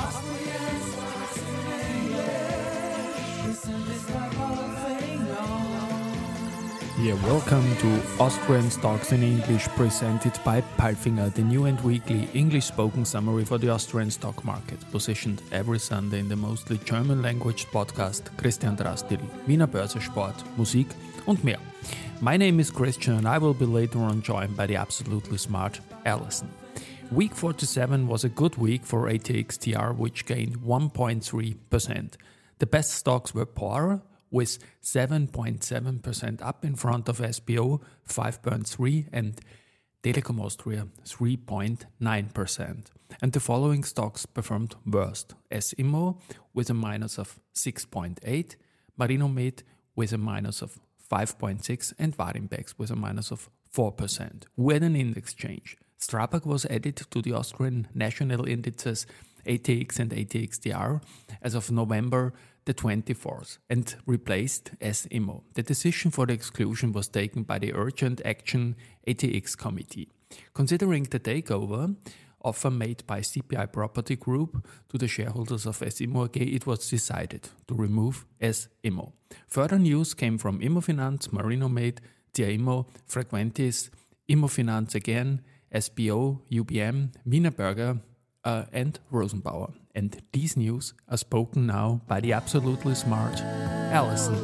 Yeah, welcome to Austrian Stocks in English, presented by Palfinger, the new and weekly English-spoken summary for the Austrian stock market, positioned every Sunday in the mostly German-language podcast Christian Drastil, Wiener Börse Sport, Musik und mehr. My name is Christian and I will be later on joined by the absolutely smart Alison. Week 47 was a good week for ATXTR, which gained 1.3%. The best stocks were poorer, with 7.7% up in front of SBO 5.3% and Telekom Austria 3.9%. And the following stocks performed worst: S Immo with a minus of 6.8%, Marinomed with a minus of 5.6%, and Warimpex with a minus of 4%. With an index change, Strabag was added to the Austrian national indices ATX and ATXTR as of November the 24th and replaced S Immo. The decision for the exclusion was taken by the Urgent Action ATX Committee. Considering the takeover offer made by CPI Property Group to the shareholders of S Immo AG, it was decided to remove S Immo. Further news came from Immofinanz, Marinomed, TIA Immo, Frequentis, Immofinanz again, SBO, UBM, Wiener Berger, and Rosenbauer. And these news are spoken now by the absolutely smart Alison.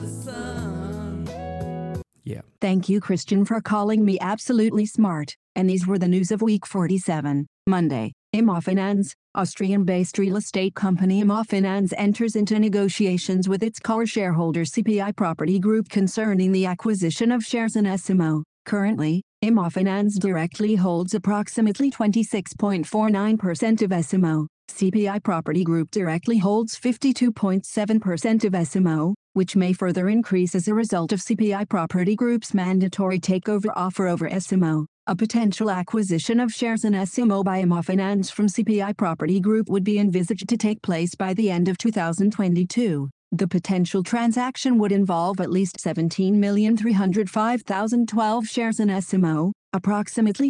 Yeah. Thank you, Christian, for calling me absolutely smart. And these were the news of week 47, Monday. Immofinanz, Austrian-based real estate company Immofinanz enters into negotiations with its core shareholder CPI Property Group concerning the acquisition of shares in S Immo. Currently, Immofinanz directly holds approximately 26.49% of S Immo. CPI Property Group directly holds 52.7% of S Immo, which may further increase as a result of CPI Property Group's mandatory takeover offer over S Immo. A potential acquisition of shares in S Immo by Immofinanz from CPI Property Group would be envisaged to take place by the end of 2022. The potential transaction would involve at least 17,305,012 shares in S Immo, approximately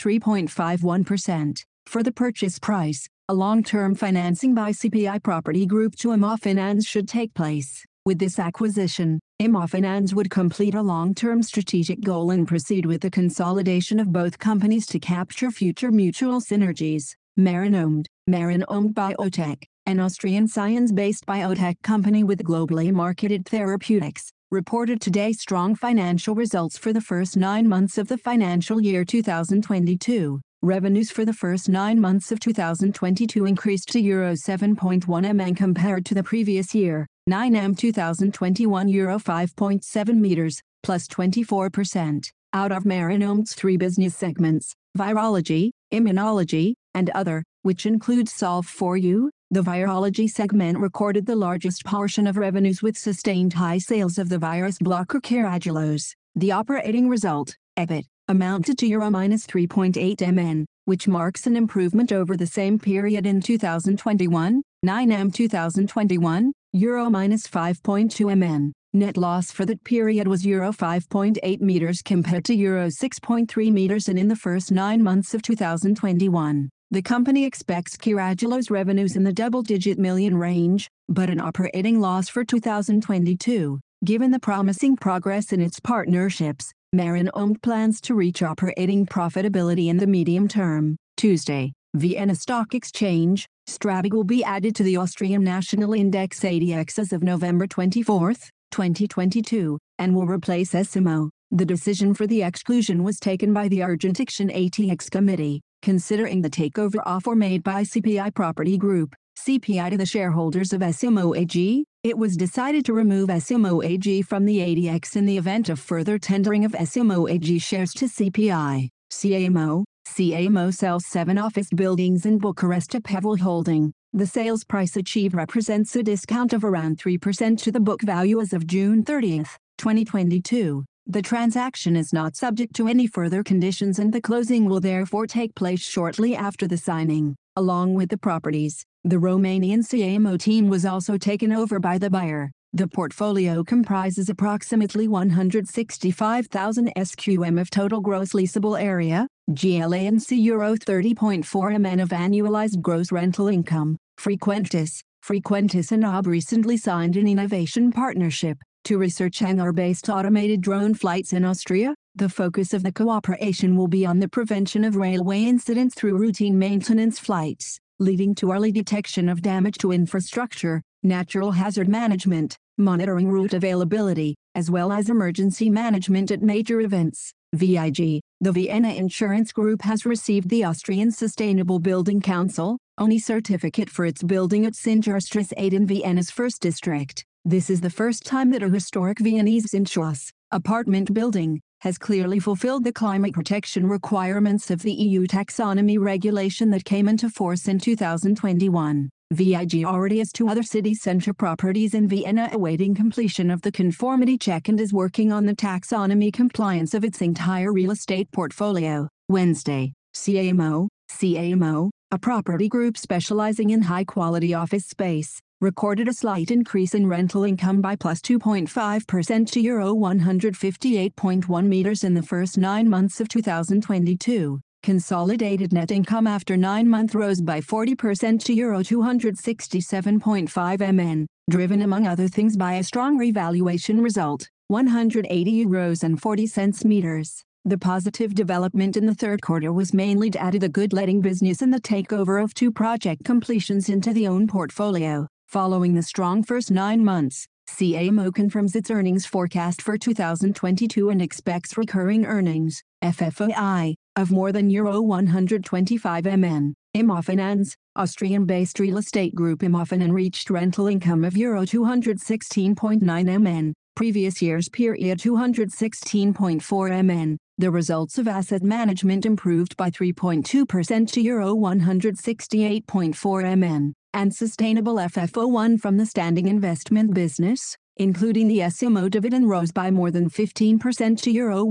23.51%. For the purchase price, a long-term financing by CPI Property Group to Immofinanz should take place. With this acquisition, Immofinanz would complete a long-term strategic goal and proceed with the consolidation of both companies to capture future mutual synergies. Marinomed Biotech, an Austrian science-based biotech company with globally marketed therapeutics, reported today strong financial results for the first 9 months of the financial year 2022. Revenues for the first 9 months of 2022 increased to Euro 7.1 million compared to the previous year, 9M 2021 Euro 5.7 meters, plus 24%. Out of Marinomed's 3 business segments, virology, immunology, and other, which includes Solv4U, the virology segment recorded the largest portion of revenues with sustained high sales of the virus blocker Carragelose. The operating result, EBIT, amounted to Euro -3.8 million, which marks an improvement over the same period in 2021, 9M 2021, Euro -5.2 million. Net loss for that period was Euro 5.8 meters compared to Euro 6.3 meters in the first 9 months of 2021. The company expects Carragelose revenues in the double-digit million range, but an operating loss for 2022. Given the promising progress in its partnerships, Marinomed plans to reach operating profitability in the medium term. Tuesday, Vienna Stock Exchange, Strabag will be added to the Austrian National Index ADX as of November 24, 2022, and will replace S Immo. The decision for the exclusion was taken by the Urgent Action ATX Committee, considering the takeover offer made by CPI Property Group, CPI to the shareholders of S Immo AG. It was decided to remove S Immo AG from the ADX in the event of further tendering of S Immo AG shares to CPI. CA Immo sells 7 office buildings in Bucharest to Pavel Holding. The sales price achieved represents a discount of around 3% to the book value as of June 30, 2022. The transaction is not subject to any further conditions and the closing will therefore take place shortly after the signing. Along with the properties, the Romanian CA Immo team was also taken over by the buyer. The portfolio comprises approximately 165,000 SQM of total gross leasable area, GLA and Euro 30.4 million of annualized gross rental income. Frequentis and OB recently signed an innovation partnership to research hangar-based automated drone flights in Austria. The focus of the cooperation will be on the prevention of railway incidents through routine maintenance flights, leading to early detection of damage to infrastructure, natural hazard management, monitoring route availability, as well as emergency management at major events. VIG, the Vienna Insurance Group has received the Austrian Sustainable Building Council ONI certificate for its building at Singerstrasse 8 in Vienna's first district. This is the first time that a historic Viennese Singerstrasse apartment building has clearly fulfilled the climate protection requirements of the EU taxonomy regulation that came into force in 2021. VIG already has 2 other city center properties in Vienna awaiting completion of the conformity check and is working on the taxonomy compliance of its entire real estate portfolio. Wednesday, CAMO, a property group specializing in high-quality office space, recorded a slight increase in rental income by plus 2.5% to Euro 158.1 meters in the first 9 months of 2022. Consolidated net income after 9 months rose by 40% to Euro 267.5 MN, driven among other things by a strong revaluation result, 180 euros and 40 cents meters. The positive development in the third quarter was mainly due to the good letting business and the takeover of 2 project completions into the own portfolio. Following the strong first 9 months, CAMO confirms its earnings forecast for 2022 and expects recurring earnings, FFOI, of more than Euro 125 MN. Immofinanz, Austrian-based real estate group Immofinanz reached rental income of Euro 216.9 MN, previous year's period 216.4 MN. The results of asset management improved by 3.2% to Euro 168.4 MN, and sustainable FFO1 from the standing investment business, including the SMO dividend, rose by more than 15% to Euro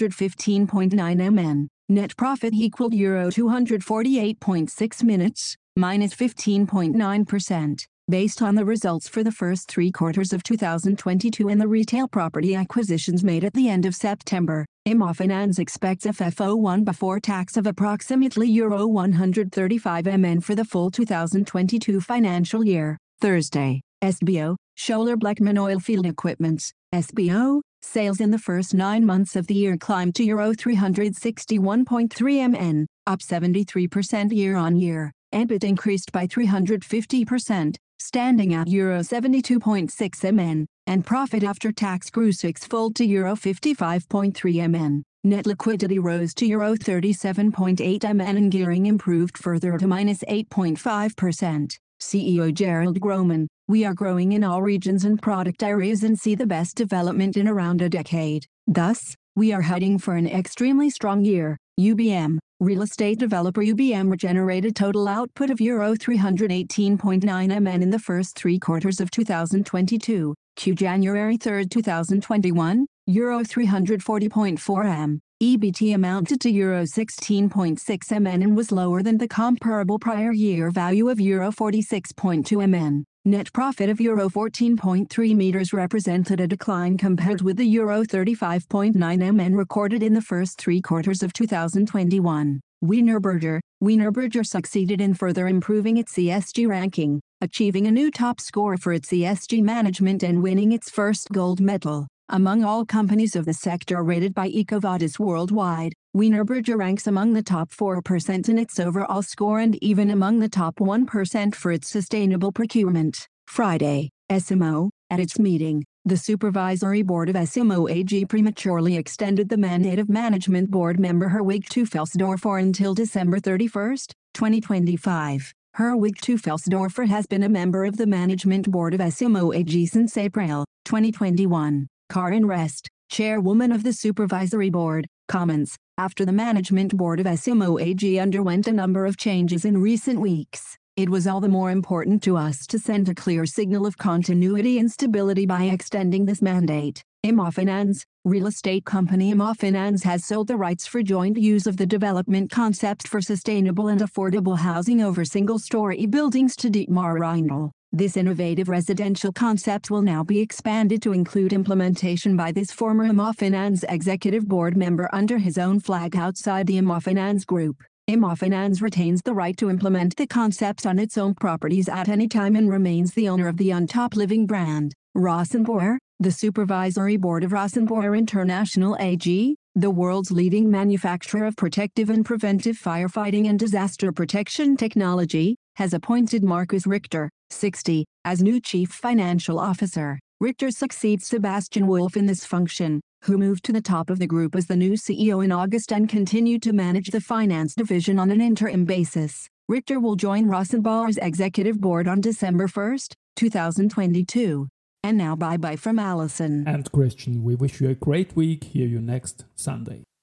115.9 MN. Net profit equaled Euro 248.6 minutes, minus 15.9%. Based on the results for the first 3 quarters of 2022 and the retail property acquisitions made at the end of September, Immofinanz expects FFO1 before tax of approximately Euro 135 MN for the full 2022 financial year. Thursday, SBO, Schoeller Bleckmann Oilfield Equipment, SBO, sales in the first 9 months of the year climbed to Euro 361.3 MN, up 73% year-on-year. EBIT increased by 350%, standing at Euro 72.6 MN, and profit after tax grew 6-fold to Euro 55.3 MN. Net liquidity rose to Euro 37.8 MN and gearing improved further to minus 8.5%. CEO Gerald Grohmann, we are growing in all regions and product areas and see the best development in around a decade. Thus, we are heading for an extremely strong year. UBM, real estate developer UBM generated total output of Euro 318.9 MN in the first 3 quarters of 2022. January 3, 2021, Euro 340.4 M. EBT amounted to Euro 16.6 MN and was lower than the comparable prior year value of Euro 46.2 MN. Net profit of Euro 14.3 meters represented a decline compared with the Euro 35.9 MN recorded in the first 3 quarters of 2021. Wienerberger succeeded in further improving its ESG ranking, achieving a new top score for its ESG management and winning its first gold medal. Among all companies of the sector rated by EcoVadis worldwide, Wienerberger ranks among the top 4% in its overall score and even among the top 1% for its sustainable procurement. Friday, SMO, at its meeting, the supervisory board of SMO AG prematurely extended the mandate of management board member Herwig Teufelsdorfer until December 31, 2025. Herwig Teufelsdorfer has been a member of the management board of SMO AG since April 2021. Karin Rest, chairwoman of the supervisory board, comments, after the management board of SMO AG underwent a number of changes in recent weeks, it was all the more important to us to send a clear signal of continuity and stability by extending this mandate. Immofinanz, real estate company Immofinanz has sold the rights for joint use of the development concept for sustainable and affordable housing over single-story buildings to Dietmar Reindl. This innovative residential concept will now be expanded to include implementation by this former Immofinanz executive board member under his own flag outside the Immofinanz Group. Immofinanz retains the right to implement the concepts on its own properties at any time and remains the owner of the on-top living brand. Rosenbauer, the supervisory board of Rosenbauer International AG, the world's leading manufacturer of protective and preventive firefighting and disaster protection technology, has appointed Markus Richter, 60, as new chief financial officer. Richter succeeds Sebastian Wolf in this function, who moved to the top of the group as the new CEO in August and continued to manage the finance division on an interim basis. Richter will join Rosenbauer's executive board on December 1, 2022. And now bye-bye from Alison and Christian. We wish you a great week. Hear you next Sunday.